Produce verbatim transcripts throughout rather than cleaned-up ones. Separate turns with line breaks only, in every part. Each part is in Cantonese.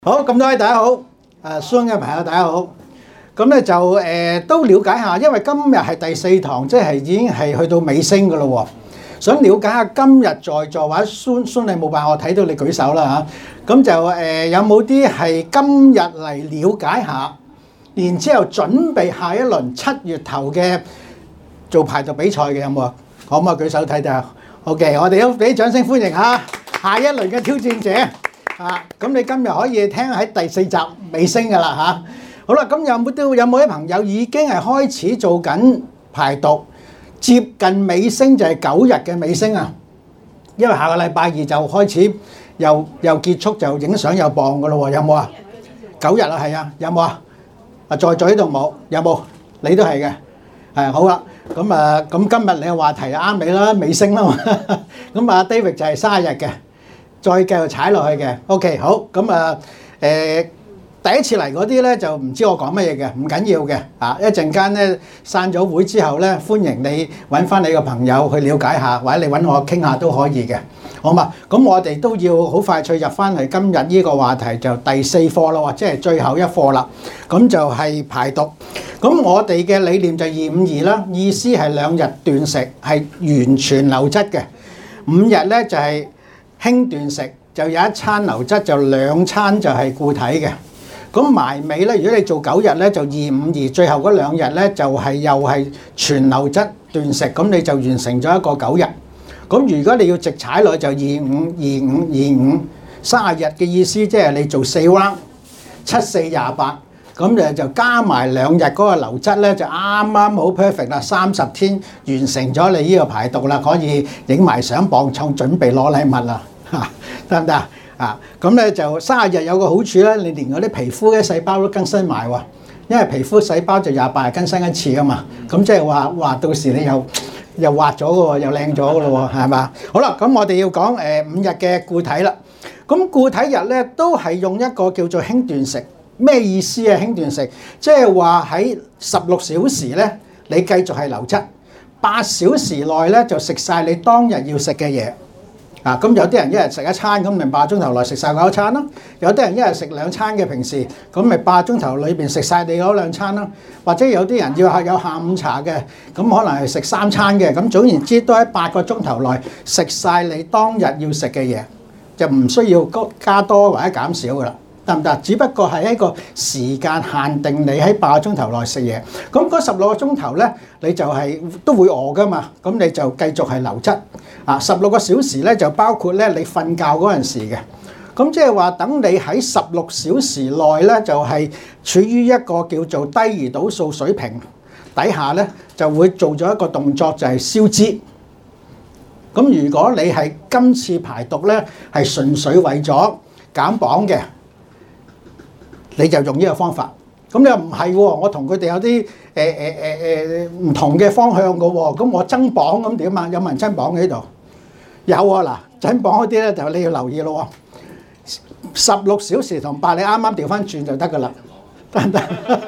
好，咁多位大家好，誒 Zoom 嘅朋友大家好，咁咧就誒、呃、都了解下，因為今日係第四堂，即係已經係去到尾聲噶咯喎，想了解下今日在座或者 Zoom Zoom 你冇辦法，我睇到你舉手啦嚇，咁就誒、呃、有冇啲係今日嚟了解下，然之後準備下一輪七月頭嘅做排毒比賽嘅有冇啊？可唔可以舉手睇睇啊 ？OK， 我哋都俾掌聲歡迎下下一輪嘅挑戰者。啊，咁你今日可以聽喺第四集尾聲㗎啦嚇。好啦，咁有冇都有冇啲朋友已經係開始做緊排毒，接近尾聲就係九日嘅尾聲啊。因為下個禮拜二就開始又又結束就影相又磅㗎咯喎，有冇啊？九日啊，係啊，有冇啊？啊，在座呢度冇，有冇？你都係嘅，係好啦。咁啊，咁今日你嘅話題啱你啦，尾聲啦嘛。咁啊，David就係三十日嘅。再繼續踩落去嘅 ，OK 好，咁啊誒第一次嚟嗰啲咧就唔知我講乜嘢嘅，唔緊要嘅，啊一陣間咧散咗會之後咧，歡迎你揾翻你個朋友去了解下，或者你揾我傾下都可以嘅，好嘛？咁我哋都要好快脆入翻去今日呢個話題就第四課咯，即係最後一課啦，咁就係排毒。咁我哋嘅理念就二五二啦，意思係兩日斷食係完全流質嘅，五日咧就係、是。輕斷食就有一餐流質，就兩餐就係固體嘅。咁埋尾咧，如果你做九日咧，就二五二，最後嗰兩日咧就係又係全流質斷食，咁你就完成咗一個九日。咁如果你要直踩落去就二五二五二五，三十日嘅意思即係你做四 round， 七四廿八，咁誒就加埋兩日嗰個流質咧就啱啱好 perfect 啦，三十天完成咗你呢個排毒啦，可以影埋相磅重，準備攞禮物啦。嚇得唔得啊？啊咁咧就三十日有個好處咧，你連嗰啲皮膚嘅細胞都更新埋喎，因為皮膚細胞就廿八日更新一次啊嘛。咁即係話話到時你又又滑咗嘅喎，又靚咗嘅咯喎，係嘛？好啦，咁我哋要講誒五日嘅固體啦。咁固體日咧都係用一個叫做輕斷食，咩意思啊？輕斷食即係話喺十六小時咧，你繼續係流質，八小時內咧就食晒你當日要食嘅嘢。啊，咁有啲人一日食一餐，咁咪八個鐘頭內食晒嗰一餐咯。有啲人一日食兩餐嘅平時，咁咪八個鐘頭裏邊食晒你嗰兩餐咯。或者有啲人要係有下午茶嘅，咁可能係食三餐嘅。咁總言之，都喺八個鐘頭內食晒你當日要食嘅嘢，就唔需要加多或者減少噶啦，得唔得？只不過係一個時間限定，你喺八個鐘頭內食嘢。咁嗰十六個鐘頭咧，你就係都會餓噶嘛，咁你就繼續係流質。啊，十六個小時咧就包括咧你瞓覺嗰陣時嘅，咁即係話等你喺十六小時內咧就係處於一個叫做低胰島素水平底下咧，就會做咗一個動作就係消脂。咁如果你係今次排毒咧係純粹為咗減磅嘅，你就用呢個方法。咁你又唔係喎？我同佢哋有啲誒誒誒誒唔同嘅方向嘅喎。咁我增磅咁點啊？有冇人增磅喺度？有啊！嗱，增磅嗰啲咧就你要留意咯喎。十六小時同八，你啱啱調翻轉就得㗎啦，得唔得？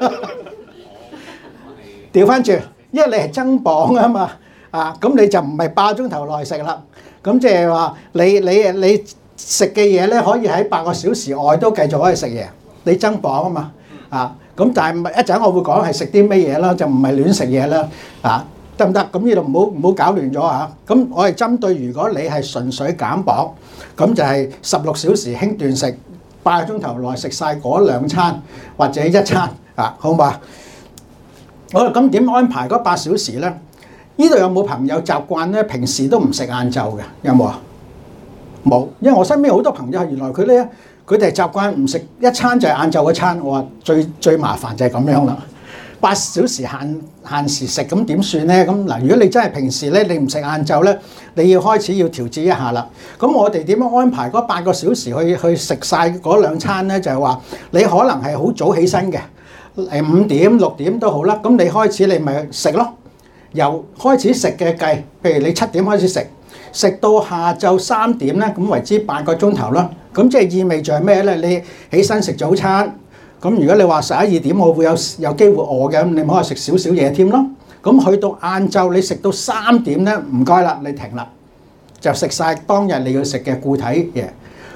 調翻轉，因為你係增磅啊嘛。啊，咁你就唔係八個鐘頭內食啦。咁即係話你你你食嘅嘢咧，可以喺八個小時外都繼續可以食嘢。你增磅啊嘛。啊。咁但係一陣我會講係食啲咩嘢啦，就唔係亂食嘢啦，啊得唔得？咁呢度唔好唔好搞亂咗嚇。咁我係針對如果你係純粹減磅，咁就係十六小時輕斷食，八個鐘頭內食晒嗰兩餐或者一餐啊，好嘛？好啦，咁點安排嗰八小時咧？呢度有冇朋友習慣咧？平時都唔食晏晝嘅，有冇啊？冇，因為我身邊好多朋友係原來佢咧。佢哋習慣唔食一餐就係晏晝嗰餐，我話最最麻煩就係咁樣啦。八小時限限時食咁點算咧？咁嗱，如果你真係平時咧你唔食晏晝咧，你要開始要調節一下啦。咁我哋點樣安排嗰八個小時去去食晒嗰兩餐咧？就係話你可能係好早起身嘅，誒五點六點都好啦。咁你開始你咪食咯，由開始食嘅計，譬如你七點開始食，食到下晝三點咧，咁為之八個鐘頭啦。咁即係意味著咩咧？你起身食早餐，咁如果你話十一二點我會有有機會餓嘅，咁你可以食少少嘢添咯。咁去到晏晝你食到三點咧，唔該啦，你停啦，就食晒當日你要食嘅固體嘢。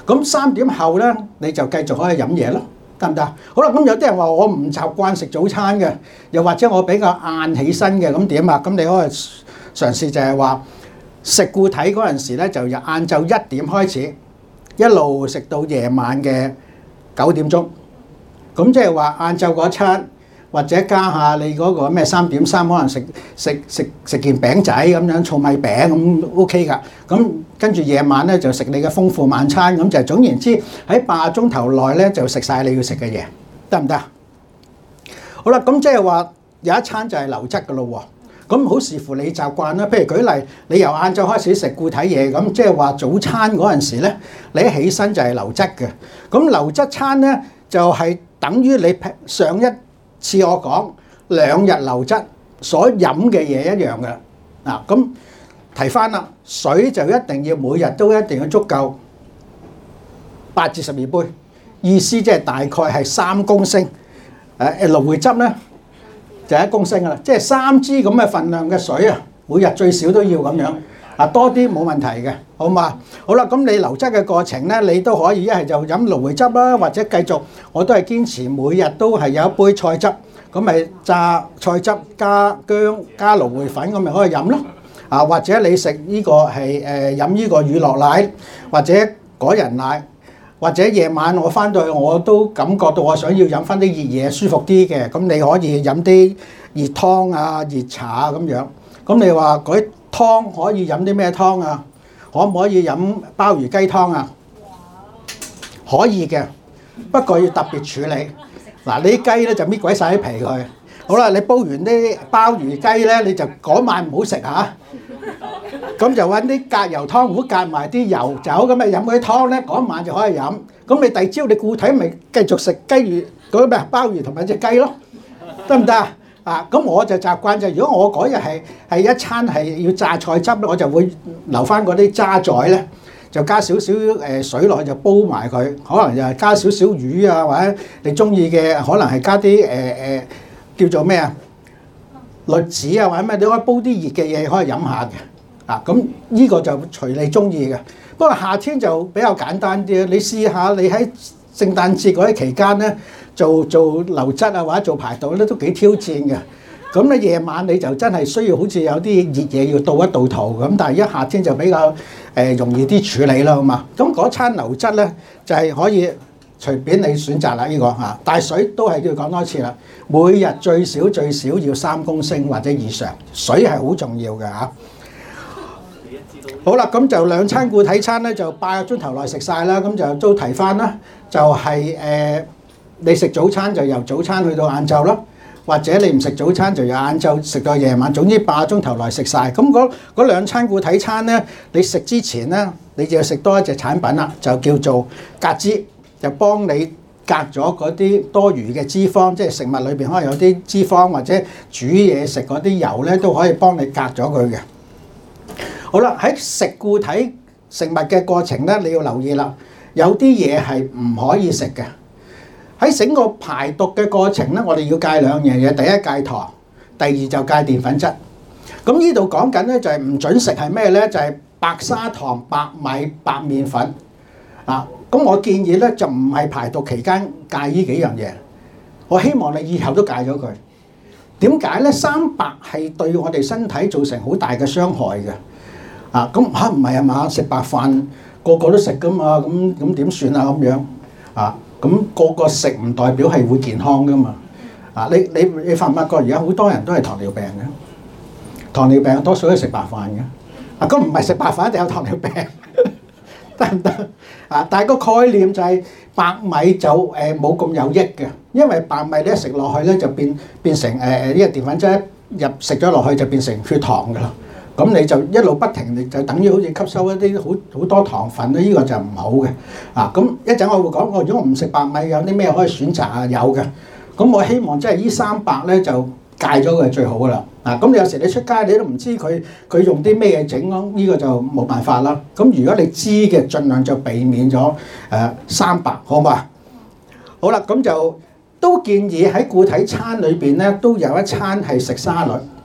咁三點後咧你就繼續可以飲嘢咯，得唔得？好啦，咁有啲人話我唔習慣食早餐嘅，又或者我比較晏起身嘅，咁點啊？咁你可以嘗試就係話食固體嗰陣時咧，就由晏晝一點開始，一路食到夜晚嘅九點鐘。咁即係話晏晝嗰餐，或者加下你嗰個咩三點三，可能食食食食件餅仔咁樣，糙米餅咁 OK 㗎。咁跟住夜晚咧就食你嘅豐富晚餐，咁就總言之喺八個鐘頭內咧就食晒你要食嘅嘢，得唔得？好啦，咁即係話有一餐就係流質㗎咯喎。咁好視乎你習慣啦。譬如舉例，你由晏晝開始食固體嘢，咁即係話早餐嗰陣時咧，你一起身就係流質嘅。咁流質餐咧就係等於你上一次我講兩日流質所飲嘅嘢一樣嘅。嗱，咁提翻啦，水就一定要每日都一定要足夠八至十二杯，意思即係大概係三公升。誒誒蘆薈汁咧就一公升噶啦，即係三支咁嘅份量嘅水啊，每日最少都要咁樣。啊，多啲冇問題嘅，好嘛？好啦，咁你流質嘅過程咧，你都可以一係就飲蘆薈汁啦，或者繼續我都係堅持每日都係有一杯菜汁，咁咪榨菜汁加薑加蘆薈粉，咁咪可以飲咯。啊，或者你食呢個係誒飲呢個乳酪奶，或者果仁奶，或者夜晚我翻到去我都感覺到我想要飲翻啲熱嘢舒服啲嘅，咁你可以飲啲熱湯啊、熱茶啊咁樣。咁你話嗰啲湯可以飲啲咩湯啊？可唔可以飲鮑魚雞湯啊？可以嘅，不過要特別處理。嗱，你啲雞咧就搣鬼晒啲皮佢。好啦，你煲完啲鮑魚雞咧，你就嗰晚唔好食嚇。咁就揾啲隔油湯壺隔埋啲油酒，咁咪飲嗰啲湯咧，嗰晚就可以飲。咁你第二朝你固體咪繼續食雞魚嗰啲咩鮑魚同埋隻雞咯，得唔得啊？啊，咁我就習慣就，如果我嗰日係係一餐係要榨菜汁咧，我就會留翻嗰啲渣滓咧，就加少少誒水落去就煲埋佢，可能就係加少少魚啊，或者你中意嘅可能係加啲誒誒叫做咩啊栗子啊，或者咩，你可以煲啲熱嘅嘢可以飲下嘅。啊，咁呢個就隨你中意嘅。不過夏天就比較簡單啲，你試下你喺聖誕節嗰啲期間咧，做做流質啊或者做排毒咧都幾挑戰嘅。咁咧夜晚你就真係需要好似有啲熱嘢要倒一倒肚咁，但係一夏天就比較誒、呃、容易啲處理啦，好嘛？咁嗰餐流質咧就係、是、可以隨便你選擇啦，呢、這個嚇。但係水都係要講多次啦，每日最少最少要三公升或者以上，水係好重要嘅嚇。好啦，咁就兩餐固體餐咧，就八個鐘頭內食晒啦。咁就都提翻啦，就係、是、誒、呃、你食早餐就由早餐去到晏晝啦，或者你唔食早餐就由晏晝食到夜晚，總之八個鐘頭內食晒。咁嗰嗰兩餐固體餐咧，你食之前咧，你就要食多一隻產品啦，就叫做隔脂，就幫你隔咗嗰啲多餘嘅脂肪，即係食物裏邊可能有啲脂肪或者煮嘢食嗰啲油咧，都可以幫你隔咗佢嘅。好啦，喺食固體食物嘅過程咧，你要留意啦，有啲嘢係唔可以食嘅。喺整個排毒嘅過程咧，我哋要戒兩樣嘢，第一戒糖，第二就戒澱粉質。咁呢度講緊咧就係唔準食係咩咧？就係白砂糖、白米、白麵粉啊。咁我建議咧就唔係排毒期間戒呢幾樣嘢，我希望你以後都戒咗佢。點解咧？三白係對我哋身體造成好大嘅傷害嘅。啊，咁嚇唔係啊嘛？食白飯個個都食噶嘛，咁咁點算啊？咁樣啊，咁個個食唔代表係會健康噶嘛？啊，你你你發唔發覺而家好多人都係糖尿病嘅？糖尿病多數都係食白飯嘅。啊，咁唔係食白飯一定有糖尿病，得唔得？啊，但係個概念就係白米就誒冇咁有益嘅，因為白米你一食落去咧就變變成誒誒呢個澱粉質入食咗落去就變成血糖噶啦。咁你就一路不停，你就等於好似吸收一啲好好多糖分咧，呢個就唔好嘅。啊，咁一陣我會講，我如果我唔食白米，有啲咩可以選擇啊？有嘅。咁我希望即係呢三白咧就戒咗佢係最好噶啦。啊，咁有時你出街你都唔知佢佢用啲咩嘢整咯，呢個就冇辦法啦。咁如果你知嘅，盡量就避免咗誒三白，好嘛？好啦，咁就都建議喺固體餐裏邊咧都有一餐係食沙律。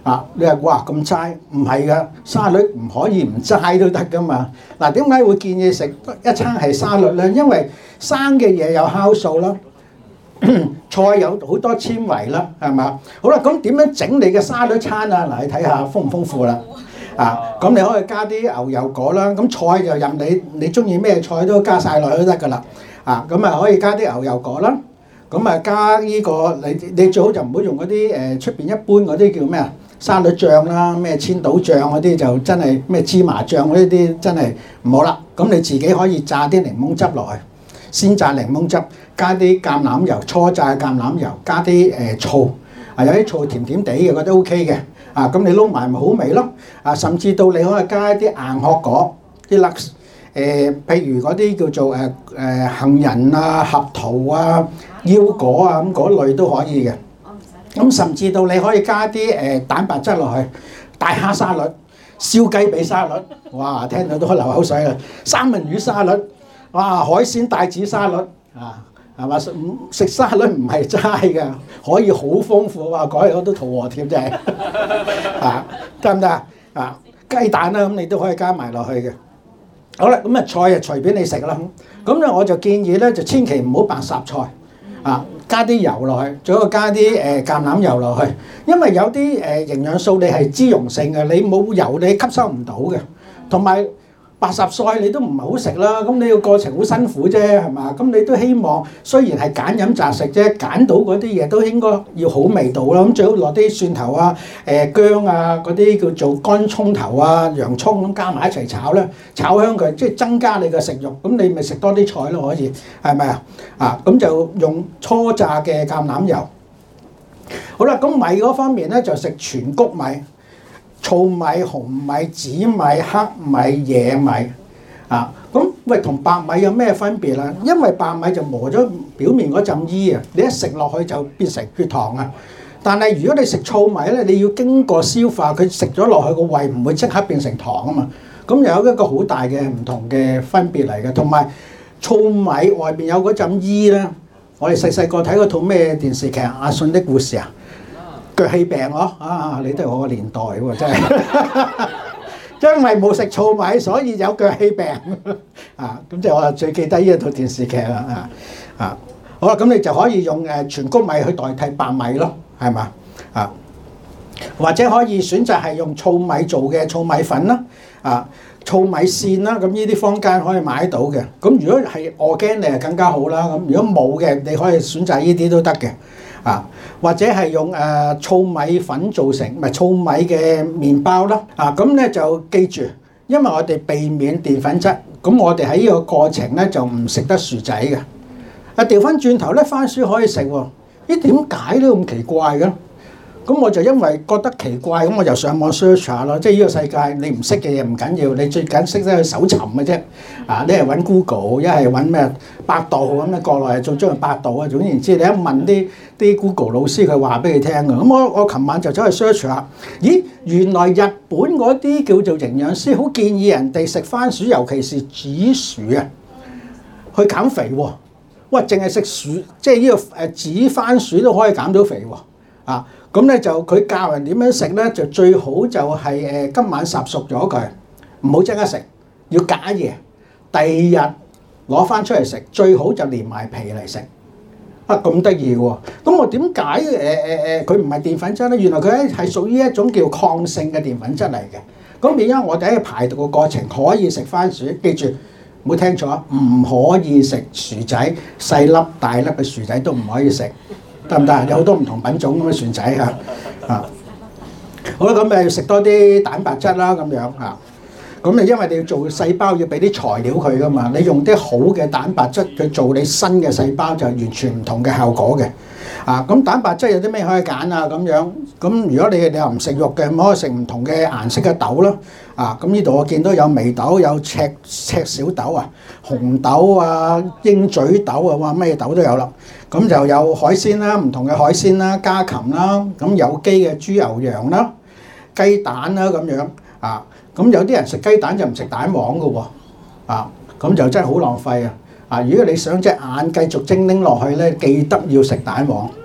啊！你話哇咁齋，唔係噶，沙律唔可以唔齋都得噶嘛。嗱，點解會建議食一餐係沙律咧？因為生嘅嘢有酵素啦，菜有好多纖維啦，係嘛？好啦，咁點樣整你嘅沙律餐啊？嗱，你睇下豐唔豐富啦。啊，咁你可以加啲牛油果啦，咁菜就任你，你中意咩菜都加晒落去都得噶啦。啊，咁啊可以加啲牛油果啦，咁啊加呢個你你最好就唔好用嗰啲誒出邊一般嗰啲叫咩啊？沙律醬啦，咩千島醬嗰啲就真係咩芝麻醬嗰啲真係唔好啦。咁你自己可以榨啲檸檬汁落去，先榨檸檬汁，加啲橄欖油，初榨橄欖油，加啲誒醋，啊有啲醋甜甜地嘅，覺得 O K 嘅。啊咁你撈埋咪好味咯。啊甚至到你可以加一啲硬殼果，啲粒誒，譬如嗰啲叫做誒誒杏仁啊、合桃啊、腰果啊咁嗰類都可以嘅。咁甚至到你可以加啲誒蛋白質落去，大蝦沙律、燒雞髀沙律，哇！聽到都流口水啦。三文魚沙律，哇！海鮮帶子沙律，啊，係嘛？食沙律唔係齋㗎，可以好豐富啊！講嚟我都肚餓添，真係啊，得唔得啊？啊，雞蛋啦，咁你都可以加埋落去嘅。好啦，咁啊菜就隨便你食啦。咁咧我就建議咧，就千祈唔好白霎菜。啊，加啲油落去，最好加啲誒橄欖油落去，因為有啲誒營養素你係脂溶性嘅，你冇油你吸收唔到嘅，同埋白霎菜你都唔係好食啦，咁你個過程好辛苦啫，係嘛？咁你都希望雖然係揀飲擇食啫，揀到嗰啲嘢都應該要好味道啦，咁最好落啲蒜頭啊、誒薑啊嗰啲叫做乾葱頭啊、洋葱咁加埋一齊炒咧，炒香佢，即係增加你嘅食慾，咁你咪食多啲菜咯，可以係咪啊？啊，咁就用初榨嘅橄欖油。好啦，咁米嗰方面咧就食全穀米。糙米、紅米、紫米、黑米、野米啊，咁喂同白米有咩分別啊？因為白米就磨咗表面嗰陣衣啊，你一食落去就變成血糖啊。但係如果你食糙米咧，你要經過消化，佢食咗落去個胃唔會即刻變成糖啊嘛。咁有一個好大嘅唔同嘅分別嚟嘅，同埋糙米外邊有嗰陣衣咧。我哋細細個睇嗰套咩電視劇《阿信的故事》啊？腳氣病嗬啊！你都係我個年代喎，真係，因為冇食糙米，所以有腳氣病啊！咁即係我最記得呢一套電視劇啦啊啊！好啦，咁你就可以用誒全穀米去代替白米咯，係嘛啊？或者可以選擇係用糙米做嘅糙米粉啦啊、糙米線啦，咁呢啲坊間可以買到嘅。咁如果係 organic 就更加好啦。咁如果冇嘅，你可以選擇呢啲都得嘅。啊，或者係用誒、呃、糙米粉做成，唔係糙米嘅麵包啦。啊，咁咧就記住，因為我哋避免澱粉質，咁我哋喺呢個過程咧就唔食得薯仔嘅。啊，調翻轉頭咧，番薯可以食喎。咦，點解都咁奇怪嘅？咁我就因為覺得奇怪，咁我就上網 search 下咯。即係呢個世界，你唔識嘅嘢唔緊要，你最緊識得去搜尋嘅啫。啊，你係揾 Google，一係揾咩百度咁咧，國內係做中係百度啊。總言之，你一問啲啲 Google 老師，佢話俾你聽嘅。咁我我琴晚就走去 search 下，咦，原來日本嗰啲叫做營養師好建議人哋食番薯，尤其是紫薯啊，去減肥喎。哇，淨係食薯，即係呢個誒紫番薯都可以減到肥喎。啊！咁咧就佢教人點樣食咧，就最好就係誒今晚烚熟咗佢，唔好即刻食，要隔一夜，第二日攞翻出嚟食，最好就連埋皮嚟食。啊，咁得意喎！咁我點解誒誒誒佢唔係澱粉質咧？原來佢咧係屬於一種叫抗性嘅澱粉質嚟嘅。咁變咗我哋喺排毒嘅過程可以食番薯，記住唔好聽錯，唔可以食薯仔，細粒大粒嘅薯仔都唔可以食。得唔得？有好多唔同品種咁嘅薯仔嚇啊！好啦，咁咪食多啲蛋白質啦，咁樣嚇。咁你因為你要做細胞，要俾啲材料佢噶嘛，你用啲好嘅蛋白質去做你新嘅細胞，就完全唔同嘅效果嘅。啊，咁蛋白質有啲咩可以揀啊？咁樣咁如果你你又唔食肉嘅，咁可以食唔同嘅顏色嘅豆啦。啊，咁呢度我見到有眉豆、有赤赤小豆啊、紅豆啊、鷹嘴豆啊，哇咩豆都有啦。咁就有海鮮啦，唔同嘅海鮮啦、家禽啦，咁有機嘅豬牛羊啦、雞蛋啦咁樣啊。咁有啲人食雞蛋就唔食蛋黃嘅喎，啊，咁就真係好浪費啊！啊，如果你想隻眼繼續精靈落去咧，記得要食蛋黃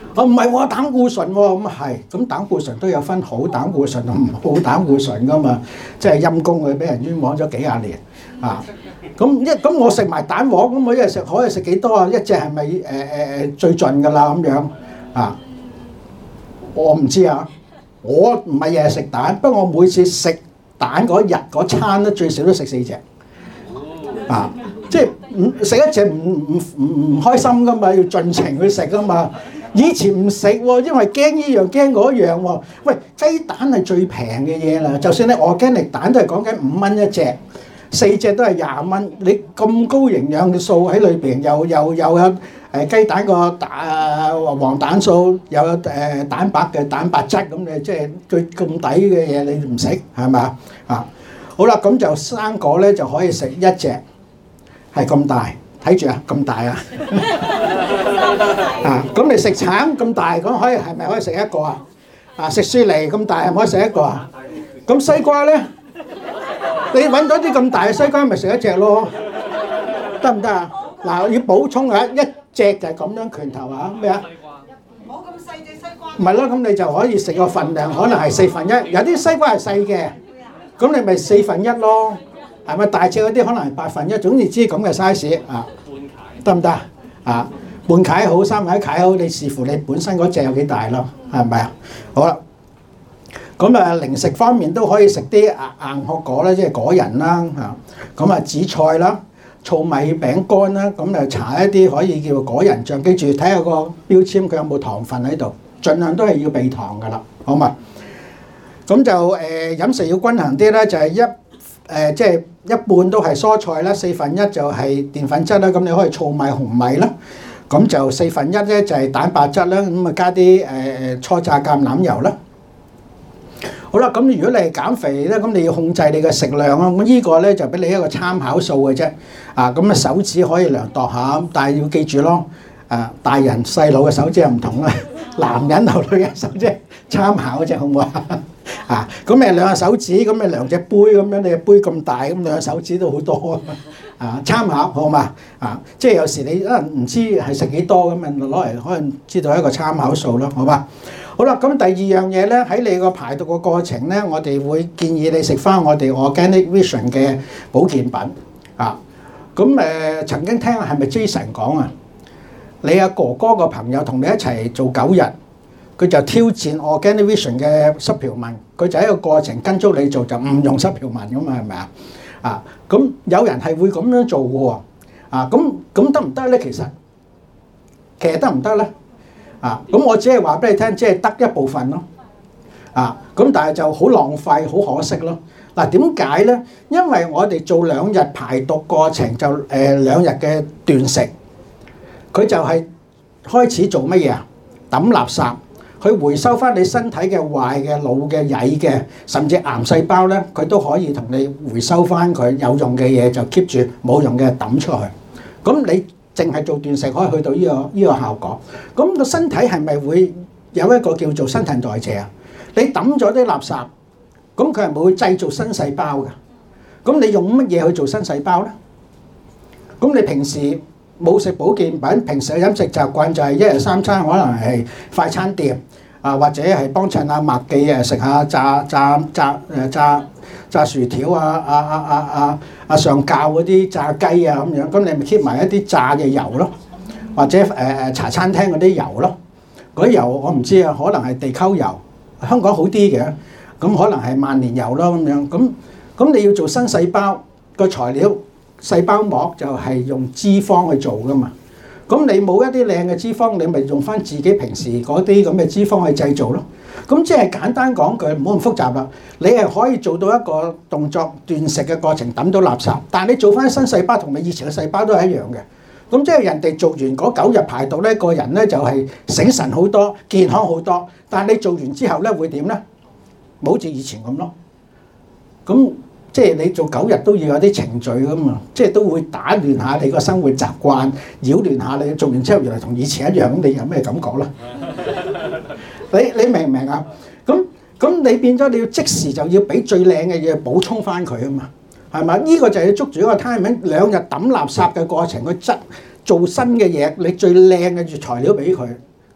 我唔係喎，膽固醇喎，咁係，咁膽固醇都有分好膽固醇同唔好膽固醇噶嘛，即係陰公佢俾人冤枉咗幾廿年啊！咁一咁我食埋蛋黃，咁我一日食可以食幾多啊？一隻係咪誒誒誒最盡㗎啦咁樣啊？我唔知啊，我唔係日日食蛋，不過我每次食蛋嗰日嗰餐咧最少都食四隻啊！即係唔食一隻唔唔唔唔開心㗎嘛，要盡情去食㗎嘛。以前唔食喎，因為驚呢樣驚嗰樣喎。喂，雞蛋係最平嘅嘢啦，就算你organic蛋都係講緊五蚊一隻，四隻都係廿蚊。你咁高營養嘅素喺裏邊，又又又有誒雞蛋個蛋黃蛋素，又有誒蛋白嘅蛋白質，咁你即係最咁抵嘅嘢，你唔食係咪啊？好啦，咁就生果咧就可以食一隻，係咁大，睇住啊，咁大啊！啊，咁你食橙咁大，咁可以係咪可以食一個啊？啊，食雪梨咁大，係咪可以食一個啊？咁西瓜咧，你揾到啲咁大嘅西瓜，咪食一隻咯，得唔得啊？嗱，要補充下，一隻就係咁樣拳頭啊，咩啊？冇咁細隻西瓜。唔係咯，咁你就可以食個份量，可能係四分一。有啲西瓜係細嘅，咁你咪四分一咯，係咪？大隻嗰啲可能係八分一，總之知咁嘅 size 啊，得唔得啊？半塊好，三塊塊好，你視乎你本身嗰隻有幾大咯，係咪啊？好啦，咁啊零食方面都可以食啲硬硬殼果啦，即係果仁啦嚇，咁啊紫菜啦、糙米餅乾啦，咁啊搽一啲可以叫果仁醬，記住睇下個標籤佢有冇糖分喺度，盡量都係要避糖噶啦，好嘛？咁就誒、呃、飲食要均衡啲啦，就係、是、一誒即係一半都係蔬菜啦，四分一就係澱粉質啦，咁你可以糙米、紅米啦。咁就四分一咧就係蛋白質啦，咁啊加啲誒誒初榨橄欖油啦。好啦，咁如果你係減肥咧，咁你要控制你嘅食量啊。咁呢個咧就俾你一個參考數嘅啫。啊，咁啊手指可以量度下，但係要記住咯。啊，大人細路嘅手指又唔同啦，男人同女人手指參考嘅啫，好唔好啊？啊，咁誒兩個手指，咁誒兩隻杯咁樣，你嘅杯咁大，咁兩個手指都好多啊！參考好嘛？啊，即係有時你可能唔知係食幾多咁啊，攞嚟可能知道一個參考數咯，好嘛？好啦，咁第二樣嘢咧，喺你個排毒個過程咧，我哋會建議你食翻我哋 Organic Vision 嘅保健品啊。咁誒、呃、曾經聽係咪 Jason 講啊？你阿哥哥個朋友同你一齊做九日。佢就挑戰 Organic Vision 嘅濕條紋，佢就喺個過程跟足你做，就唔用濕條紋噶嘛，係咪啊？啊，咁有人係會咁樣做嘅喎，啊，咁咁得唔得咧？其實其實得唔得咧？啊，咁我只係話俾你聽，即係得一部分咯，啊，咁但係就好浪費，好可惜咯。嗱，點解咧？因為我哋做兩日排毒過程就誒、呃、兩日嘅斷食，佢就係開始做乜嘢啊？抌垃圾。去回收翻你身體嘅壞嘅老嘅曳嘅，甚至癌細胞咧，佢都可以同你回收翻佢有用嘅嘢，就 keep 住冇用嘅抌出去。咁你淨係做斷食可以去到呢個呢個效果。咁個身體係咪會有一個叫做新陳代謝啊？你抌咗啲垃圾，咁佢係咪會製造新細胞㗎？咁你用乜嘢去做新細胞咧？咁你平時冇食保健品，平時嘅飲食習慣就係一日三餐可能係快餐店啊，或者係幫襯阿麥記啊，食下炸炸炸誒炸炸薯條啊，啊啊啊啊啊上教嗰啲炸雞啊咁樣，咁你咪 keep 埋一啲炸嘅油咯，或者誒誒茶餐廳嗰啲油咯，嗰啲油我唔知啊，可能係地溝油，香港好啲嘅，咁可能係萬年油咯咁樣，咁咁你要做新細胞個材料。細胞膜就係用脂肪去做噶嘛，咁你冇一啲靚嘅脂肪，你咪用翻自己平時嗰啲咁嘅脂肪去製造咯。咁即係簡單講句，唔好咁複雜啦。你係可以做到一個動作斷食嘅過程，抌到垃圾，但係你做翻新細胞同你以前嘅細胞都係一樣嘅。咁即係人哋做完嗰九日排毒咧，個人咧就係醒神好多、健康好多。但係你做完之後咧會點咧？冇好似以前咁咯。咁即係你做九日都要有啲程序噶嘛，即係都會打亂下你個生活習慣，擾亂下你。做完之後原來同以前一樣，咁你有咩感覺咧？你你明唔明啊？咁咁你變咗你要即時就要俾最靚嘅嘢補充翻佢啊嘛，係咪？呢個就係要捉住一個 timing，兩日抌垃圾嘅過程，去質做新嘅嘢，你最靚嘅材料俾佢，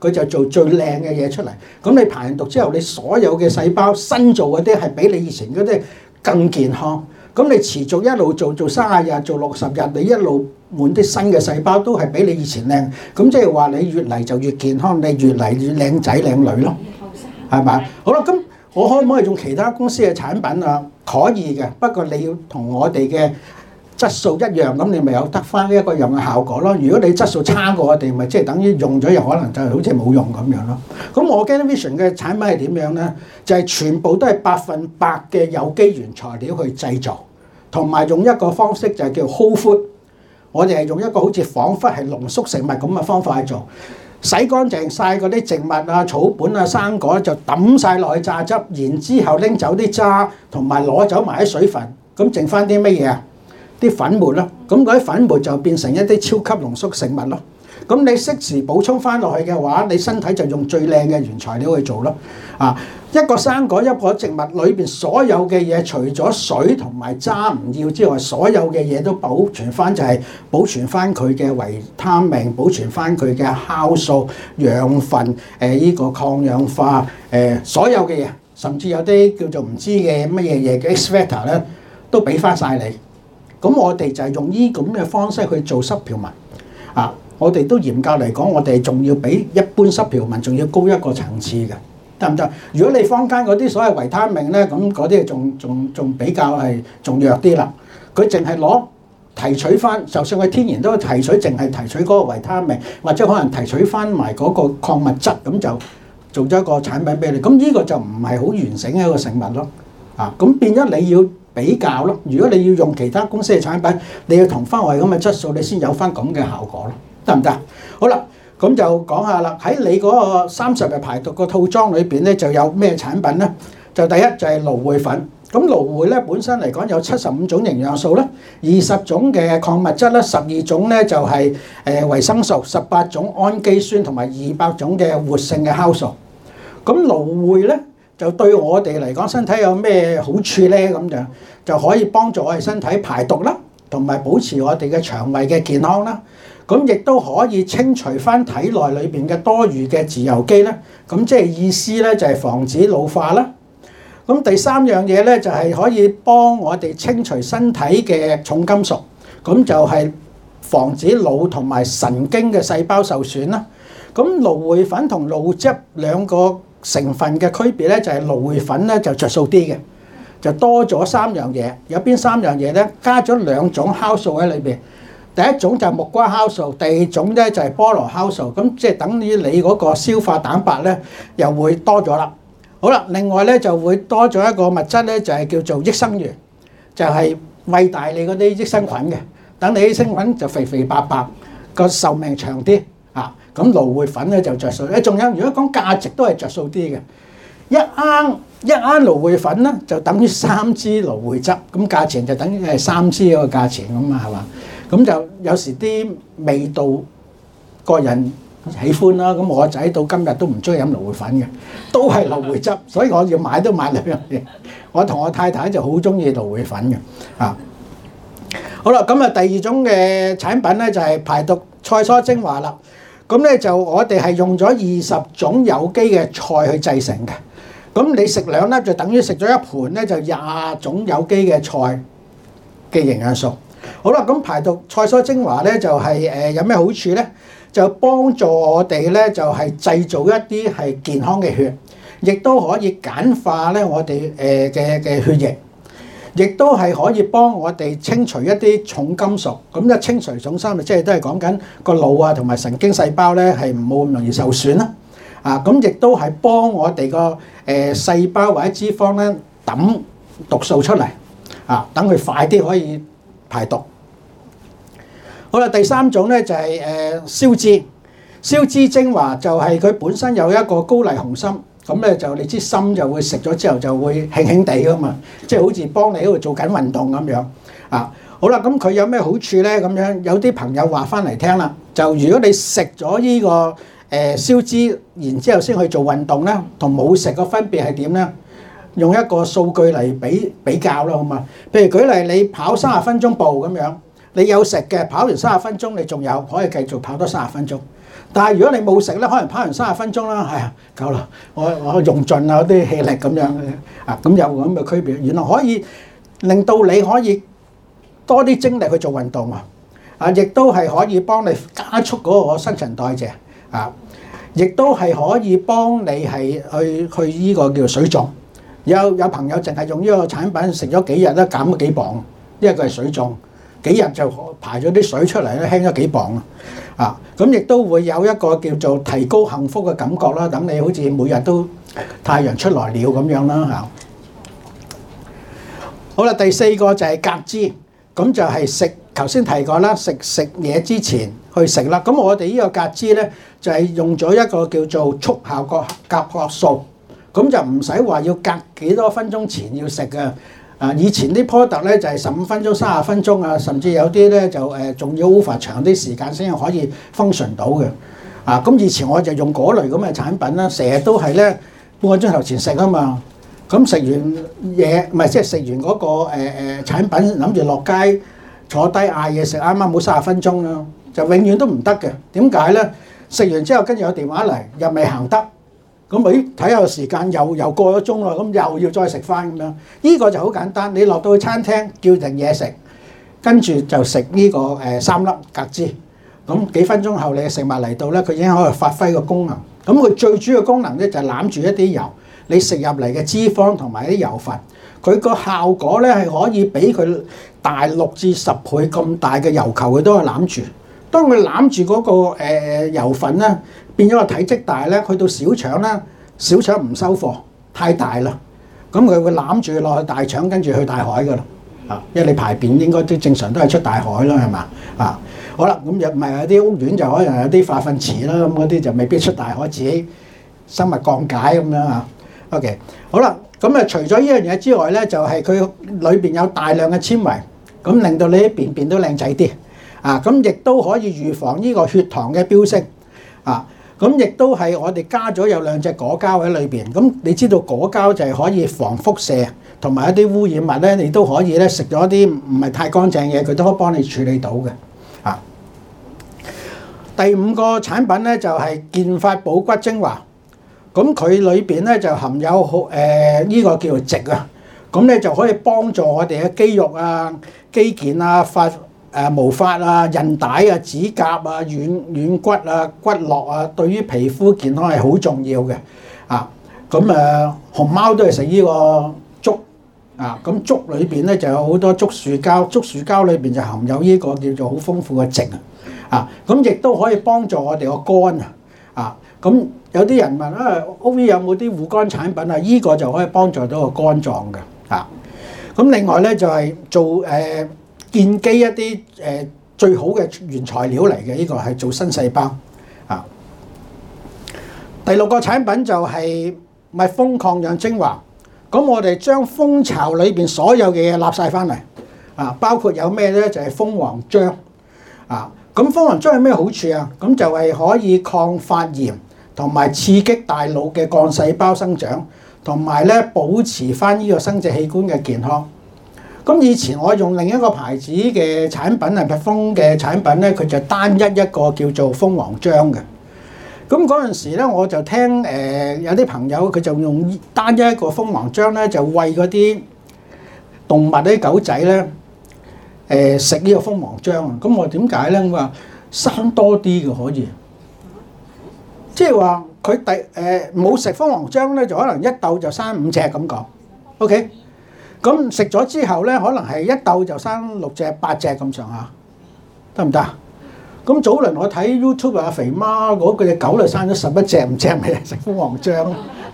佢就做最靚嘅嘢出嚟。咁你排完毒之後，你所有嘅細胞新做嗰啲係比你以前嗰啲更健康。咁你持續一路做做三十日，做六十日，你一路換啲新嘅細胞都係比你以前靚。咁即係話你越嚟就越健康，你越嚟越靚仔靚女咯，係咪？好啦，咁我可唔可以用其他公司嘅產品啊？可以嘅，不過你要同我哋嘅質素一樣，咁你咪有得翻一個樣嘅效果咯。如果你質素差過我哋，咪即係等於用咗又可能就好似冇用咁樣咯。咁我 Organic Vision 嘅產品係點樣咧？就係、是、全部都係百分百嘅有機原材料去製造，同埋用一個方式就係叫 Whole Food。我哋係用一個好似彷彿係濃縮食物咁嘅方法去做，洗乾淨晒嗰啲植物啊、草本啊、生果就抌晒落去榨汁，然之後拎走啲渣，同埋攞走埋啲水分，咁剩翻啲乜嘢啊？啲粉末咯，咁嗰啲粉末就變成一啲超級濃縮食物咯。咁你適時補充翻落去嘅話，你身體就用最靚嘅原材料去做咯。啊，一個生果一個植物裏邊所有嘅嘢，除咗水同埋渣唔要之外，所有嘅嘢都保存翻，就係保存翻佢嘅維他命，保存翻佢嘅酵素、養分、誒依個抗氧化、誒所有嘅嘢，甚至有啲叫做唔知嘅乜嘢嘢嘅 X factor 咧，都俾翻晒你。咁我哋就係用呢咁嘅方式去做濕漂文啊！我哋都嚴格嚟講，我哋仲要比一般濕漂文仲要高一個層次嘅，得唔得？如果你坊間嗰啲所謂維他命咧，咁嗰啲仲仲仲比較係仲弱啲啦。佢淨係攞提取翻，就算佢天然都提取，淨係提取嗰個維他命，或者可能提取翻埋嗰個礦物質，咁就做咗一個產品俾你。咁呢個就唔係好完整嘅一個食物咯。啊，咁變咗你要比較咯。如果你要用其他公司嘅產品，你要同翻我哋咁嘅質素，你先有翻咁嘅效果咯，得唔得？好啦，咁就講下啦。喺你嗰個三十日排毒個套裝裏邊咧，就有咩產品咧？就第一就係蘆薈粉。咁蘆薈咧本身嚟講有七十五種營養素啦，二十種嘅礦物質啦，十二種咧就係誒維生素，十八種氨基酸同埋二百種嘅活性嘅酵素。咁蘆薈咧就對我哋嚟講身體有咩好處咧？咁樣就可以幫助我哋身體排毒啦，同埋保持我哋嘅腸胃嘅健康啦。咁亦都可以清除翻體內裏邊嘅多餘嘅自由基啦。咁即係意思咧就係防止老化啦。咁第三樣嘢咧就係可以幫我哋清除身體嘅重金屬，咁就係防止腦同埋神經嘅細胞受損啦。咁蘆薈粉同蘆汁兩個成分嘅區別咧，就係蘆薈粉咧就着數啲嘅，就多咗三樣嘢。有邊三樣嘢咧？加咗兩種酵素喺裏邊。第一種就係木瓜酵素，第二種咧就係菠蘿酵素。咁即係等於你嗰個消化蛋白咧又會多咗啦。好啦，另外咧就會多咗一個物質咧，就係叫做益生元，就係餵大你嗰啲益生菌嘅，等你益生菌就肥肥白白，個壽命長啲啊。咁蘆薈粉咧就着數。誒，仲有如果講價值都係着數啲嘅，一盎一盎蘆薈粉咧就等於三支蘆薈汁，咁價錢就等於係三支嗰個價錢咁啊，係嘛？咁就有時啲味道個人喜歡啦。咁我仔到今日都唔中意飲蘆薈粉嘅，都係蘆薈汁，所以我要買都買兩樣嘢。我同我太太就好中意蘆薈粉嘅啊。好啦，咁啊第二種嘅產品咧就係排毒菜蔬精華啦。咁咧就我哋係用咗二十種有機嘅菜去製成嘅。咁你食兩粒就等於食咗一盤咧，就廿種有機嘅菜嘅營養素。好啦，咁排毒菜蔬精華咧就係誒有咩好處咧？就幫助我哋咧就係製造一啲係健康嘅血，亦都可以簡化咧我哋誒嘅嘅血液，亦都係可以幫我哋清除一啲重金屬。咁一清除重金屬，即係都係講緊個腦啊同埋神經細胞咧係冇咁容易受損啦。啊，咁亦都係幫我哋個誒細胞或者脂肪咧抌毒素出嚟，啊，等佢快啲可以排毒。好啦，第三種咧就係誒消脂，消脂精華就係佢本身有一個高麗紅參，咁咧就你知參就會食咗之後就會輕輕地噶嘛，即係好似幫你喺度做緊運動咁樣啊。好啦，咁佢有咩好處咧？咁樣有啲朋友話翻嚟聽啦，就如果你食咗呢個誒消脂，然之後先去做運動咧，同冇食個分別係點咧？用一個數據嚟比比較啦，好嘛？譬如舉例，你跑三十分鐘步咁樣，你有食嘅，跑完三十分鐘，你仲有可以繼續跑多三十分鐘。 但係如果你冇食咧，可能拋完三十分鐘啦，係啊夠啦，我我用盡啦啲氣力咁樣啊，咁有咁嘅區別。原來可以令到你可以多啲精力去做運動啊，啊，亦都係可以幫你加速嗰個新陳代謝啊，亦都係可以幫你係去去呢個叫水腫。有有朋友淨係用呢個產品食咗幾日咧，減咗幾磅，因為佢係水腫。幾日就排咗啲水出嚟咧，輕咗幾磅啊！咁亦都會有一個叫做提高幸福嘅感覺啦。等你好似每日都太陽出來了咁樣啦嚇。好啦，第四個就係隔脂，咁就係食頭先提過啦，食食嘢之前去食啦。咁我哋呢個隔脂咧就係用咗一個叫做速效個甲殼素，咁就唔使話要隔幾多分鐘前要食嘅。啊！以前啲 product 咧就係十五分鐘、三十分鐘啊，甚至有啲咧就誒仲要 over 長啲時間先可以 function 到嘅。啊！咁以前我就用嗰類咁嘅產品啦，成日都係咧半個鐘頭前食啊嘛。咁食完嘢唔係即係食完嗰個誒誒產品，諗住落街坐低嗌嘢食，啱啱冇三十分鐘啦，就永遠都唔得嘅。點解咧？食完之後跟住有電話嚟，又未行得。咁咦睇下個時間又又過咗鐘啦，咁又要再食翻咁樣。呢個就好簡單，你落到去餐廳叫定嘢食，跟住就食呢個誒三粒隔脂。咁幾分鐘後你嘅食物嚟到咧，佢已經可以發揮個功能。咁佢最主要功能咧就係攬住一啲油，你食入嚟嘅脂肪同埋啲油分，佢個效果咧係可以比佢大六至十倍咁大嘅油球，佢都係攬住。當佢攬住嗰個誒油分咧，變咗個體積大咧，去到小腸咧，小腸唔收貨，太大啦，咁佢會攬住落去大腸，跟住去大海噶啦，啊，因為你排便應該都正常都係出大海啦，係嘛？啊，好啦，咁又唔係有啲屋苑就可能有啲化糞池啦，咁嗰啲就未必出大海，自己生物降解咁樣啊。OK， 好啦，咁啊除咗呢樣嘢之外咧，就係佢裏邊有大量嘅纖維，咁令到你啲便便都靚仔啲。啊，咁亦都可以預防呢個血糖嘅飆升，啊，咁亦都係我哋加咗有兩隻果膠喺裏邊。咁你知道果膠就係可以防輻射，同埋一啲污染物咧，你都可以咧食咗啲唔係太乾淨嘢，佢都可以幫你處理到嘅。啊，第五個產品咧就係健髮補骨精華，咁佢裏邊咧就含有好誒呢個叫做矽啊，咁咧就可以幫助我哋嘅肌肉啊、肌腱啊、髮誒毛髮啊、韌帶啊、指甲啊、軟軟骨啊、骨骼啊，對於皮膚健康係好重要嘅。啊，咁誒熊貓都係食呢個竹啊，咁竹裏邊咧就有好多竹樹膠，竹樹膠裏邊就含有呢個叫做好豐富嘅矽啊。啊，咁亦都可以幫助我哋個肝啊。啊，咁有啲人問啊 ，O V 有冇啲護肝產品啊？依個就可以幫助到個肝臟嘅。啊，咁另外咧就係做誒。建基一啲誒最好嘅原材料嚟嘅，呢個係做新細胞啊。第六個產品就係蜜蜂抗氧精華。咁我哋將蜂巢裏邊所有嘅嘢納晒翻嚟啊，包括有咩咧？就係蜂王漿啊。咁蜂王漿有咩好處啊？咁就係可以抗發炎，同埋刺激大腦嘅幹細胞生長，同埋咧保持翻呢個生殖器官嘅健康。咁以前我用另一個牌子嘅產品係蜜蜂嘅產品咧，佢就單一一個叫做蜂王漿嘅。咁嗰陣時咧，我就聽誒、呃、有啲朋友佢就用單一一個蜂王漿咧，就餵嗰啲動物啲狗仔咧誒食呢個蜂王漿啊。咁我點解咧？我話生多啲嘅可以，即係話佢第誒冇食蜂王漿咧，就可能一竇就生五隻咁講。OK。咁食咗之後咧，可能係一竇就生六隻、八隻咁上下，得唔得？咁早輪我睇 YouTube 阿肥媽嗰隻狗就生咗十一隻，唔知咪食蜂王漿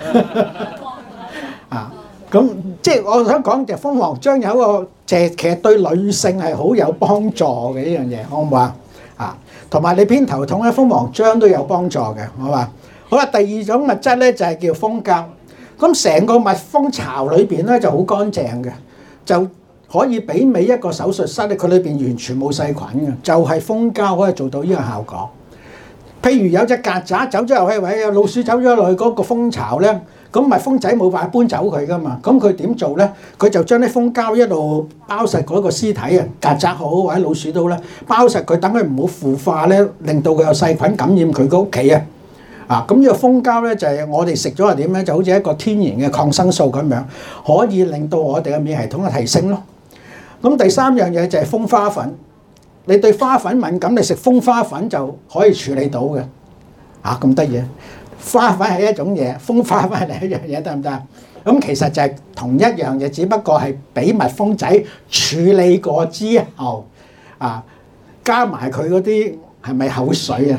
啊？咁即係我想講，就蜂王漿有一個，就係其實對女性係好有幫助嘅呢樣嘢，好唔好啊？啊，同埋你偏頭痛咧，蜂王漿都有幫助嘅，好嘛？好啦，第二種物質咧就係叫蜂膠。咁成個蜜蜂巢裏邊咧就好乾淨嘅，就可以媲美一個手術室咧，佢裏邊完全冇細菌嘅，就係蜂膠可以做到呢個效果。譬如有隻曱甴走咗入去，或者有老鼠走咗落去嗰個蜂巢咧， 咁蜜蜂仔冇辦法搬走佢噶嘛，咁佢點做咧？佢就將啲蜂膠一路包實嗰個屍體啊，曱甴好或者老鼠都咧，包實佢，等佢唔好腐化咧，令到佢有細菌感染佢個屋企啊！啊，咁呢個蜂膠咧就係我哋食咗係點咧？就好似一個天然嘅抗生素咁樣，可以令到我哋嘅免疫系統嘅提升咯。咁第三樣嘢就係蜂花粉，你對花粉敏感，你食蜂花粉就可以處理到嘅。啊，咁得意！花粉係一種嘢，蜂花粉係另一樣嘢，得唔得？咁其實就係同一樣嘢，只不過係俾蜜蜂仔處理過之後，啊，加埋佢嗰啲係咪口水啊？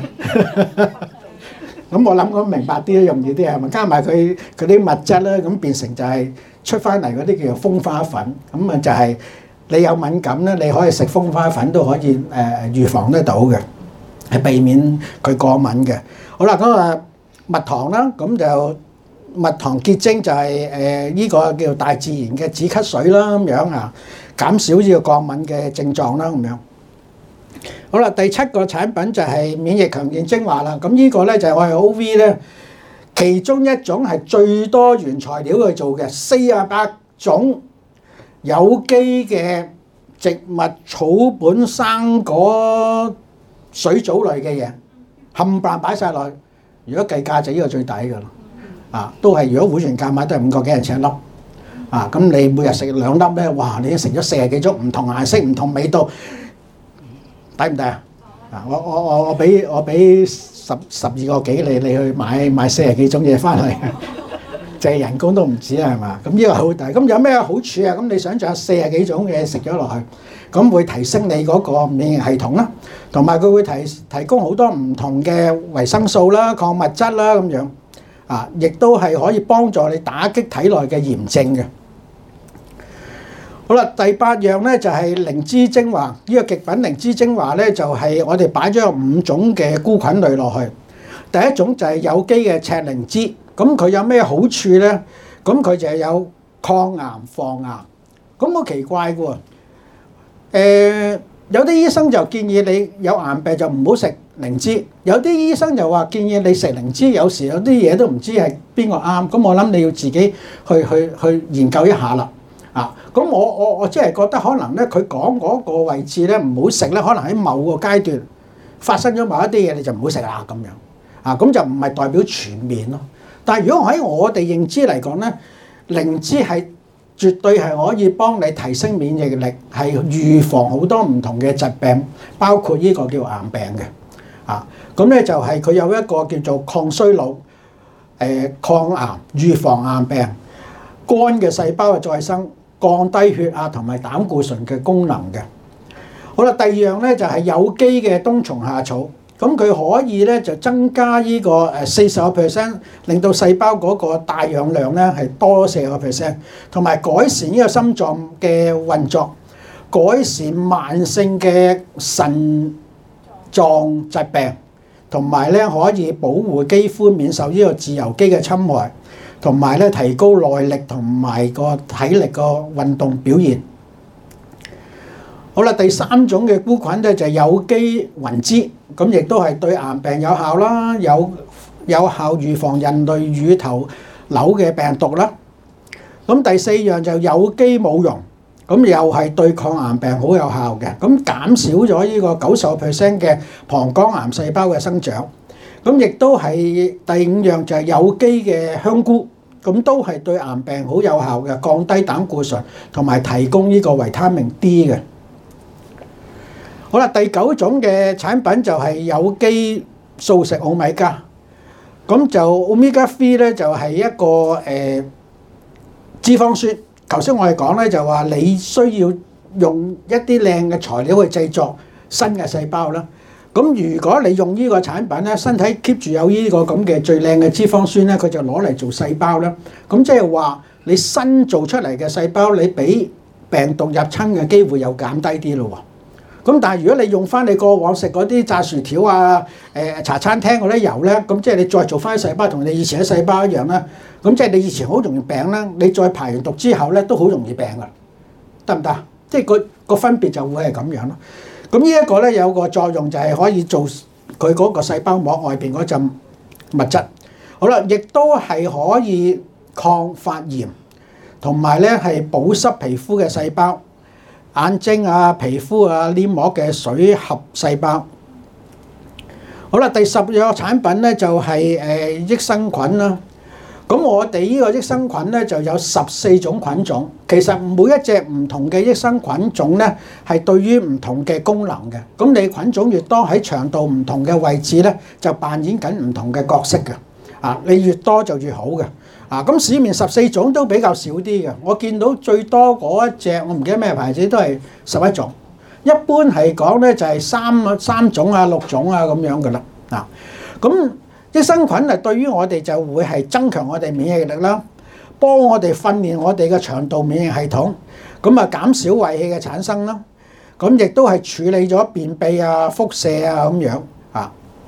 咁我諗咁明白啲，容易啲係咪？加埋佢佢啲物質咧，咁變成就係出翻嚟嗰啲叫做蜂花粉。咁啊就係你有敏感咧，你可以食蜂花粉都可以誒預防得到嘅，係避免佢過敏嘅。好啦，咁啊蜜糖啦，咁就蜜糖結晶就係誒呢個叫做大自然嘅止咳水啦，咁樣啊，減少呢個過敏嘅症狀啦，咁樣。好啦，第七個產品就係免疫強健精華啦。咁呢個咧就係我哋 O V 咧其中一種係最多原材料去做嘅，四十八種有機嘅植物、草本、生果、水藻類嘅嘢，冚唪唥擺曬落去。如果計價就呢個最抵㗎啦。啊，都係如果會員價買都係五個幾人請一粒。啊，咁你每日食兩粒咧，哇！你已經食咗四十幾種唔同顏色、唔同味道。抵唔抵啊？啊！我我我我俾我俾十十二個幾你，你去買買四十幾種嘢翻嚟，淨係人工都唔止啊，係嘛？咁呢個好大。咁有咩好處啊？咁你想象四十幾種嘢食咗落去，咁會提升你嗰個免疫系統啦，同埋佢會提提供好多唔同嘅維生素啦、礦物質啦咁樣啊，亦都係可以幫助你打擊體內嘅炎症嘅。好啦，第八樣咧就係靈芝精華。呢個極品靈芝精華咧就係我哋擺咗有五種嘅菇菌類落去。第一種就係有機嘅赤靈芝，咁佢有咩好處咧？咁佢就係有抗癌防癌。咁好奇怪嘅喎，誒有啲醫生就建議你有癌病就唔好食靈芝，有啲醫生就話建議你食靈芝，有時有啲嘢都唔知係邊個啱。咁我諗你要自己去去去研究一下啦。啊，咁我我我即係覺得可能咧，佢講嗰個位置咧唔好食咧，可能喺某個階段發生咗某一啲嘢，你就唔好食啦咁樣。啊，咁就唔係代表全面咯。但係如果喺我哋認知嚟講咧，靈芝係絕對係可以幫你提升免疫力，係預防好多唔同嘅疾病，包括呢個叫癌病嘅。啊，咁咧就係佢有一個叫做抗衰老、誒、呃、抗癌、預防癌病、肝嘅細胞嘅再生、降低血壓同埋膽固醇嘅功能嘅。好啦，第二樣咧就係有機嘅冬蟲夏草，咁佢可以咧就增加呢個誒四十個 percent，令到細胞嗰個帶氧量咧係多四十個 percent，同埋改善呢個心臟嘅運作，改善慢性嘅腎臟疾病，同埋咧可以保護肌膚免受呢個自由基嘅侵害。同埋咧提高耐力同埋個體力個運動表現。好啦，第三種嘅菇菌咧就係有機雲芝，咁亦都係對癌病有效啦，有有效預防人類乳頭瘤嘅病毒啦。咁第四樣就有機舞茸，咁又係對抗癌病好有效嘅，咁減少咗呢個九十個 percent 嘅膀胱癌細胞嘅生長。咁亦都係第五樣就係有機嘅香菇，咁都係對癌病好有效嘅，降低膽固醇同埋提供呢個維他命 D 嘅。好啦，第九種嘅產品就係有機素食奧米加，咁就 Omega 三咧就係一個誒脂肪酸。頭先我哋講咧就話你需要用一啲靚嘅材料去製作新嘅細胞啦。咁如果你用呢個產品咧，身體 keep 住有呢個咁嘅最靚嘅脂肪酸咧，佢就攞嚟做細胞啦。咁即係話你新做出嚟嘅細胞，你俾病毒入侵嘅機會又減低啲咯喎。咁但係如果你用翻你過往食嗰啲炸薯條啊、誒茶餐廳嗰啲油咧，咁即係你再做翻啲細胞同你以前嘅細胞一樣啦。咁即係你以前好容易病啦，你再排完毒之後咧都好容易病噶，得唔得？即係個個分別就會係咁樣咯。咁呢一個咧有個作用就係可以做佢嗰個細胞膜外邊嗰陣物質。好啦，亦都係可以抗發炎，同埋咧係保濕皮膚嘅細胞，眼睛啊、皮膚啊、黏膜嘅水合細胞。好啦，第十個產品咧就係誒益生菌啦。咁我哋呢個益生菌咧就有十四種菌種，其實每一隻唔同嘅益生菌種咧係對於唔同嘅功能嘅。咁你菌種越多，喺腸道唔同嘅位置咧就扮演緊唔同嘅角色嘅。啊，你越多就越好嘅。啊，咁市面十四種都比較少啲嘅。我見到最多嗰一隻，我唔記得咩牌子，都係十一種。一般係講咧就係三三種啊、六種啊咁樣嘅啦。啊，咁益生菌啊，對於我哋就會係增強我哋免疫力啦，幫我哋訓練我哋嘅腸道免疫系統，咁啊減少胃氣嘅產生啦，咁亦都係處理咗便秘啊、腹瀉啊咁樣啊。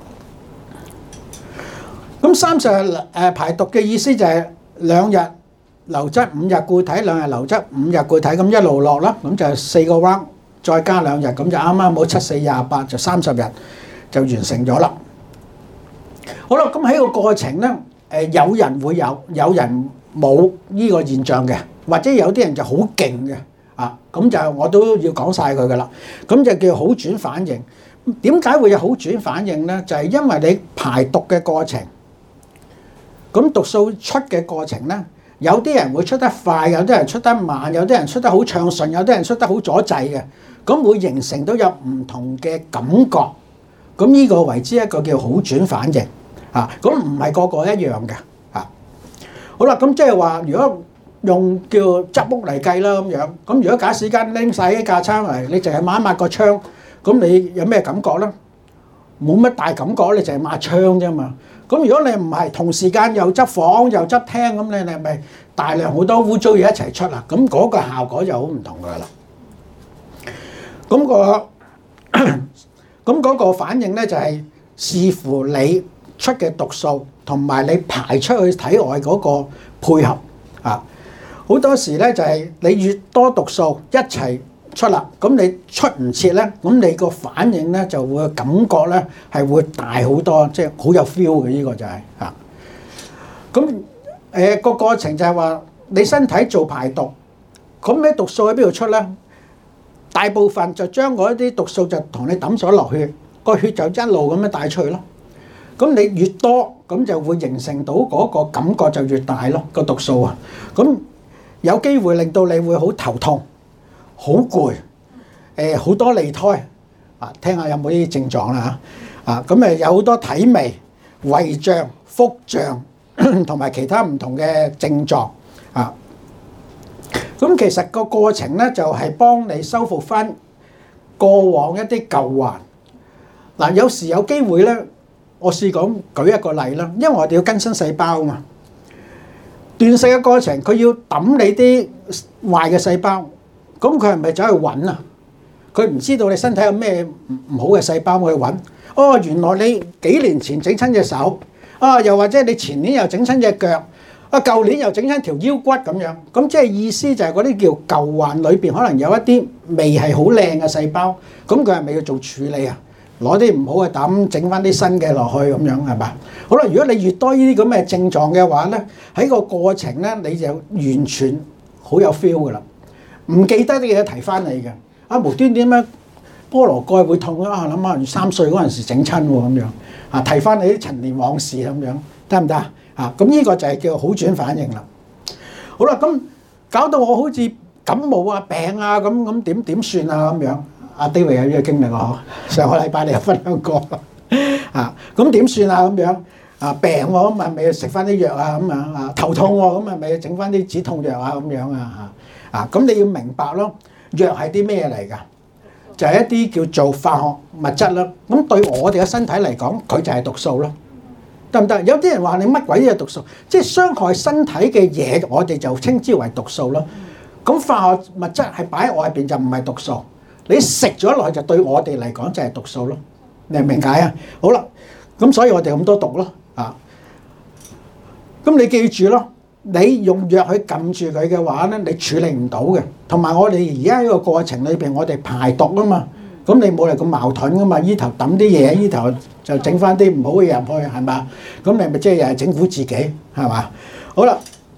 咁三十日誒排毒嘅意思就係兩日流質五日固體，兩日流質五日固體，咁一路落啦，咁就四個 round，再加兩日，咁就啱啱好七四廿八，就三十日就完成咗啦。好啦，咁喺個過程咧，誒有人會有，有人冇呢個現象嘅，或者有啲人就好勁嘅，啊，咁就我都要講晒佢噶啦。咁就叫好轉反應。點解會有好轉反應咧？就係因為你排毒嘅過程，咁毒素出嘅過程咧，有啲人會出得快，有啲人出得慢，有啲人出得好暢順，有啲人出得好阻滯嘅，咁會形成到有唔同嘅感覺。咁呢個為之一個叫好轉反應。啊，咁唔係個個一樣嘅，啊，好啦，咁即係話，如果用叫執屋嚟計啦咁樣，咁如果假使間拎晒啲架撐嚟，你淨係抹一抹個窗，咁你有咩感覺咧？冇乜大感覺，你淨係抹窗啫嘛。咁如果你唔係同時間又執房又執廳，咁你你咪大量好多污糟嘢一齊出啦，咁嗰個效果就好唔同噶啦。咁個咁嗰個反應咧就係視乎你出嘅毒素同埋你排出去體外嗰個配合啊，好多時咧就係你越多毒素一齊出啦，咁你出唔切咧，咁你個反應咧就會感覺咧係會大好多，即係好有 feel 嘅，呢個就係啊。咁誒個過程就係話你身體做排毒，咁你毒素喺邊度出咧？大部分就將嗰啲毒素就同你抌咗落血，個血就一路咁樣帶出去咯。咁你越多，咁就會形成到嗰個感覺就越大咯，個毒素啊。咁有機會令到你會好頭痛、好攰，誒好多脷苔啊。聽下有冇呢啲症狀啦嚇啊。咁誒有好多體味、胃脹、腹脹同埋其他唔同嘅症狀啊。咁其實個過程咧就係幫你修復翻過往一啲舊患嗱。有時有機會咧。我試講舉一個例啦，因為我哋要更新細胞啊嘛。斷食嘅過程，佢要抌你啲壞嘅細胞，咁佢係咪走去揾啊？佢唔知道你身體有咩唔好嘅細胞去揾。哦，原來你幾年前整親隻手，啊，又或者你前年又整親隻腳，啊，舊年又整親條腰骨咁樣。咁即係意思就係嗰啲叫舊患裏邊可能有一啲未係好靚嘅細胞，咁佢係咪要做處理啊？攞啲唔好嘅膽，整翻啲新嘅落去咁樣係嘛？好啦，如果你越多呢啲咁嘅症狀嘅話咧，喺個過程咧你就完全好有 feel 噶啦，唔記得啲嘢提翻你嘅。啊，無端端咩菠蘿蓋會痛啊？諗下三歲嗰陣時整親喎咁樣啊，提翻你啲陳年往事咁樣，得唔得啊？啊，咁呢個就係叫好轉反應啦。好啦，咁搞到我好似感冒啊、病啊咁咁點點算啊咁樣？阿 David 有呢個經歷喎，上個禮拜你有分享過啊，咁點算啊咁樣啊？病喎，咁咪咪要食翻啲藥啊咁樣啊，頭痛喎，咁咪咪要整翻啲止痛藥啊咁樣啊嚇啊！咁你要明白咯，藥係啲咩嚟㗎？就係一啲叫做化學物質啦。咁對我哋嘅身體嚟講，佢就係毒素咯，得唔得？有啲人話你乜鬼嘢毒素，即係傷害身體嘅嘢，我哋就稱之為毒素咯。咁化學物質係擺喺外邊就唔係毒素。你食咗落去就對我哋嚟講就係毒素咯，你明唔明解啊？好啦，咁所以我哋咁多毒咯，啊，咁你記住咯，你用藥去撳住佢嘅話咧，你處理唔到嘅。同埋我哋而家呢個過程裏邊，我哋排毒啊嘛，咁你冇嚟咁矛盾噶嘛？依頭抌啲嘢，依頭就整翻啲唔好嘅嘢入去，係嘛？咁你咪即係又係整苦自己，係嘛？好啦，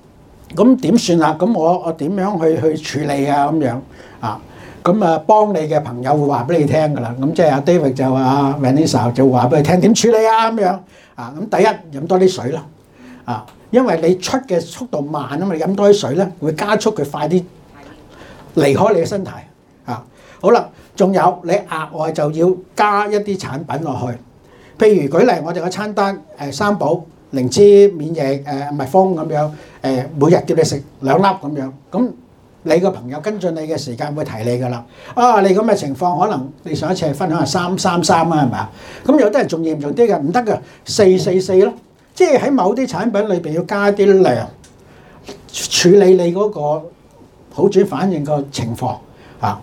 咁點算啊？咁我我點樣去去處理啊？咁樣啊？咁啊，幫你嘅朋友會話俾你聽㗎啦。咁即係阿 David 就話阿 Vanessa 就話俾你聽點處理啊？咁樣啊？咁第一飲多啲水啦，啊，因為你出嘅速度慢啊嘛，你飲多啲水咧會加速佢快啲離開你嘅身體啊。好啦，仲有你額外就要加一啲產品落去，譬如舉例我哋個餐單誒三寶靈芝免疫誒蜜蜂咁樣誒，每日叫你食兩粒咁樣咁。你個朋友跟進你嘅時間會提你㗎啦。啊，你咁嘅情況，可能你上一次係分享係三三三啊，係咪啊？咁有啲人仲嚴重啲嘅，唔得嘅，四四四咯。即係喺某啲產品裏邊要加啲量，處理你嗰個好轉反應個情況啊。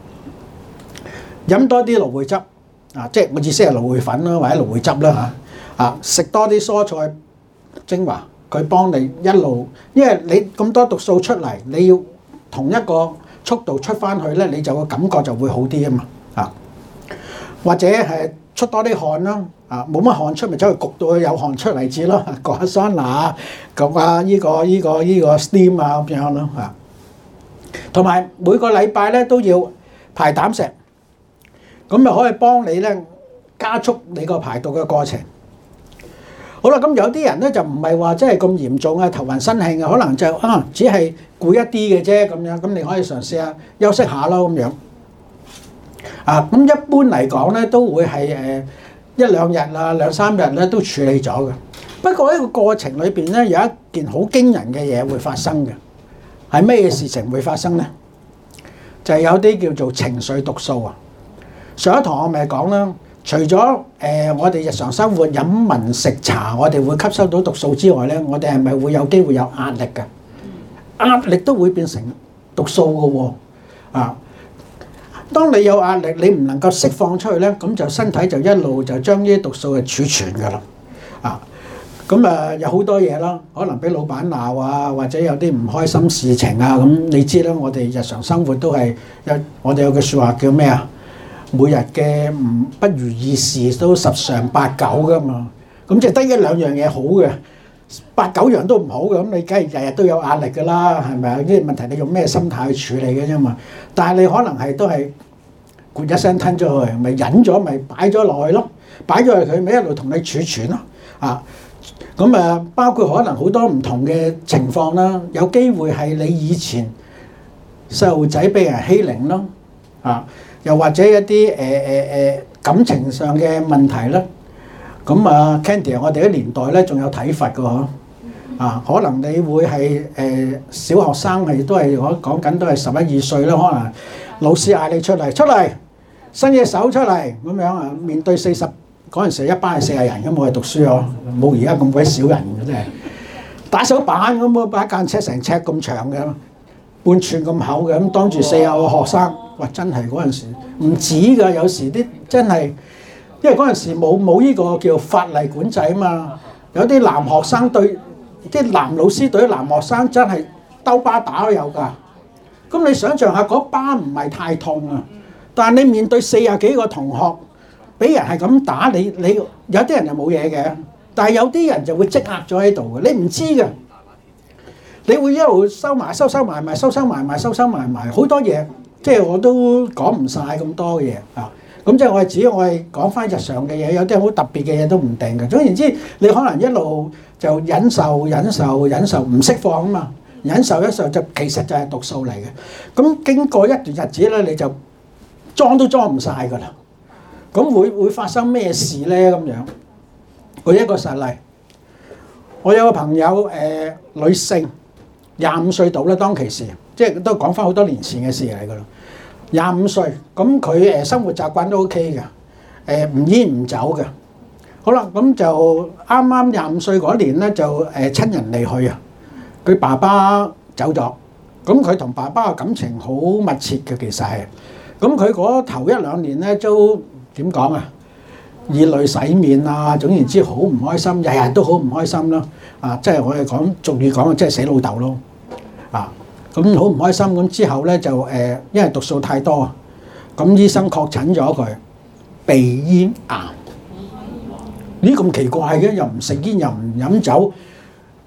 飲多啲蘆薈汁啊，即係我意思係蘆薈粉啦，或者蘆薈汁啦嚇啊。食多啲蔬菜精華，佢幫你一路，因為你咁多毒素出嚟，你要同一個速度出翻去咧，你就個感覺就會好啲啊嘛啊，或者係出多啲汗啦啊，冇乜汗出咪走去焗到佢有汗出嚟至咯，焗下桑拿，焗下依個依個依個 steam 啊咁樣咯啊，同埋每個禮拜咧都要排膽石，咁就可以幫你咧加速你個排毒嘅過程。好啦，咁有啲人咧就唔係話真係咁嚴重啊，頭暈身㷫嘅，可能就啊只係攰一啲嘅啫咁樣，咁你可以嘗試下休息下咯咁樣。啊，咁一般嚟講咧都會係誒一兩日啊兩三日咧都處理咗嘅。不過呢個過程裏邊咧有一件好驚人嘅嘢會發生嘅，係咩事情會發生咧？就係有啲叫做情緒毒素啊。上一堂我咪講啦。除咗誒、呃、我哋日常生活飲聞食茶，我哋會吸收到毒素之外咧，我哋係咪會有機會有壓力嘅？壓力都會變成毒素嘅喎。啊，當你有壓力，你唔能夠釋放出去咧，咁就身體就一路就將呢啲毒素係儲存㗎啦。啊，咁啊有好多嘢啦，可能俾老闆鬧啊，或者有啲唔開心事情啊，咁你知啦，我哋日常生活都係有，我哋有句説話叫咩啊？每日嘅唔不如意事都十常八九噶嘛，咁即係得一兩樣嘢好嘅，八九樣都唔好嘅，咁你梗係日日都有壓力㗎啦，係咪啊？呢啲問題你用咩心態去處理嘅啫嘛？但係你可能係都係咕一聲吞咗去，咪忍咗，咪擺咗落去咯，擺咗去佢咪一路同你儲存咯，啊，咁啊包括可能好多唔同嘅情況啦，有機會係你以前細路仔俾人欺凌咯，啊。又或者一啲誒誒誒感情上嘅問題啦，咁啊 Candy 我哋啲年代咧仲有體罰㗎嗬，啊可能你會係誒小學生係都係我講緊都係十一二歲啦，可能老師嗌你出嚟出嚟伸隻手出嚟咁樣啊，面對四十嗰陣時一班係四十人咁，我哋讀書嗬，冇而家咁鬼少人嘅真係，打手板咁啊，把間尺成尺咁長嘅，半寸咁厚嘅，咁當住四十個學生。哇！真係嗰陣時唔止㗎，有時啲真係，因為嗰陣時冇冇呢個叫法例管制啊嘛。有啲男學生對啲男老師對啲男學生真係兜巴打都有㗎。咁你想象下嗰巴唔係太痛啊，但係你面對四十幾個同學，俾人係咁打你，你有啲人就冇嘢嘅，但係有啲人就會積壓咗喺度嘅，你唔知㗎。你會一路收埋收收埋埋收收埋埋收收埋埋好多嘢。即係我都講唔晒咁多嘢啊！咁即係我係指我係講翻日常嘅嘢，有啲好特別嘅嘢都唔定嘅。總言之，你可能一路就忍受、忍受、忍受，唔釋放啊嘛！忍受一受就其實就係毒素嚟嘅。咁經過一段日子咧，你就裝都裝唔晒㗎啦。咁會會發生咩事咧？咁樣舉一個實例，我有個朋友誒、呃、女性，廿五歲到啦，當其時。即係都講翻好多年前嘅事嚟㗎啦，廿五歲，咁佢誒生活習慣都 OK 嘅，誒唔煙唔酒嘅。好啦，咁就啱啱廿五歲嗰年咧，就誒親人離去啊，佢爸爸走咗，咁佢同爸爸嘅感情好密切嘅，其實係，咁佢嗰頭一兩年咧都點講啊，以淚洗面啊，總言之好唔開心，日日都好唔開心啦，啊，即係我哋講俗語講，即係死老豆咯，啊。咁好唔開心，咁之後咧就誒，因為毒素太多啊，咁醫生確診咗佢鼻咽癌。呢咁奇怪嘅，又唔食煙又唔飲酒，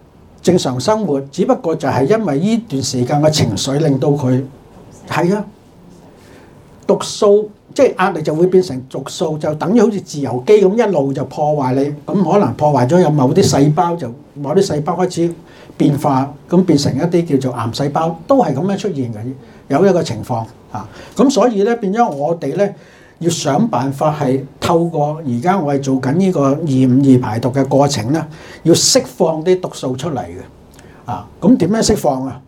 正常生活，只不過就係因為呢段時間嘅情緒令到佢係啊，毒素即係壓力就會變成毒素，就等於好似自由基咁一路就破壞你，咁可能破壞咗有某啲細胞，就某啲細胞開始變化，咁變成一啲叫做癌細胞，都係咁樣出現嘅，有一個情況啊。咁所以咧變咗我哋咧要想辦法係透過而家我係做緊呢個二五二排毒嘅過程咧，要釋放啲毒素出嚟嘅啊。咁點樣釋放啊？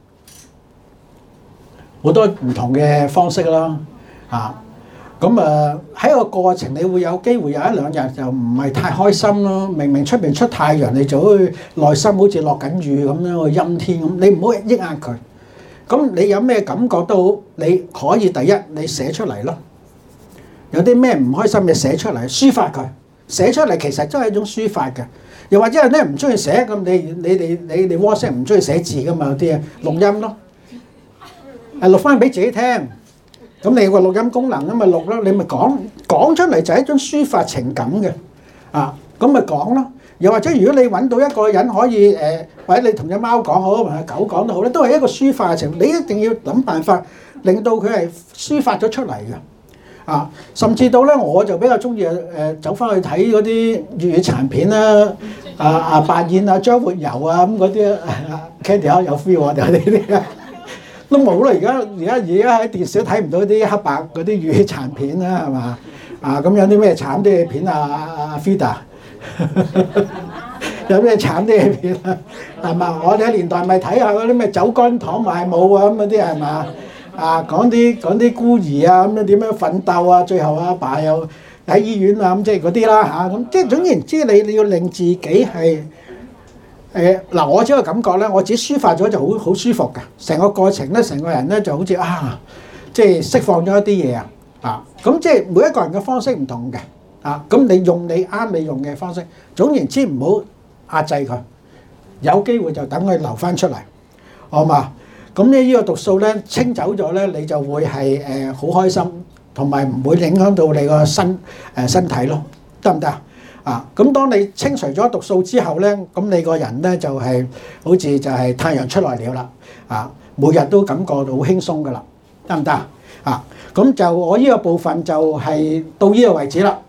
好多唔同嘅方式啦啊。咁啊喺個過程，你會有機會有一兩日就唔係太開心咯。明明出邊出太陽，你就好似內心好似落緊雨咁樣個陰天咁，你唔好抑壓佢。咁你有咩感覺都好，你可以第一你寫出嚟咯。有啲咩唔開心嘅寫出嚟，抒發佢。寫出嚟其實都係一種抒發嘅。又或者係咧唔中意寫咁，你你哋你哋 WhatsApp 唔中意寫字噶嘛？有啲啊錄音咯，誒錄翻俾自己聽。咁你有個錄音功能咁咪錄咯，你咪講講出嚟就係一種抒發情感嘅啊，咁咪講咯。又或者如果你揾到一個人可以誒、呃，或者你同隻貓講好，同隻狗講都好咧，都係一個抒發嘅情。你一定要諗辦法令到佢係抒發咗出嚟嘅啊。甚至到咧，我就比較中意誒走翻去睇嗰啲粵語殘片啦，啊啊白燕啊、張活游啊咁嗰啲啊 ，Candy 啊有 feel 啊，就係呢啲啊。都冇啦！而家而家而家喺電視都睇唔到啲黑白嗰啲粵語殘片啦，係嘛？啊咁有啲咩慘啲嘅片啊？阿阿 Fida 有咩慘啲嘅片啊？係嘛？我哋喺年代咪睇下嗰啲咩酒乾倘賣無啊咁嗰啲係嘛？啊講啲講啲孤兒啊咁樣點樣奮鬥啊，最後阿爸又喺醫院啊咁即係嗰啲啦嚇咁，即係總言之你你要令自己係。誒嗱，我自己個感覺咧，我自己抒發咗就好好舒服嘅，成個過程咧，成個人咧就好似啊，即係釋放咗一啲嘢啊，啊，咁即係每一個人嘅方式唔同嘅，啊，咁你用你啱你用嘅方式，總言之唔好壓制佢，有機會就等佢流翻出嚟，好嘛？咁咧呢個毒素咧清走咗咧，你就會係誒好開心，同埋唔會影響到你個身誒身體咯，得唔得啊？啊，咁當你清除咗毒素之後咧，咁你個人咧就係好似就係太陽出來了啦，啊，每日都感覺到好輕鬆噶啦，得唔得啊？啊，咁就我呢個部分就係到呢個為止啦。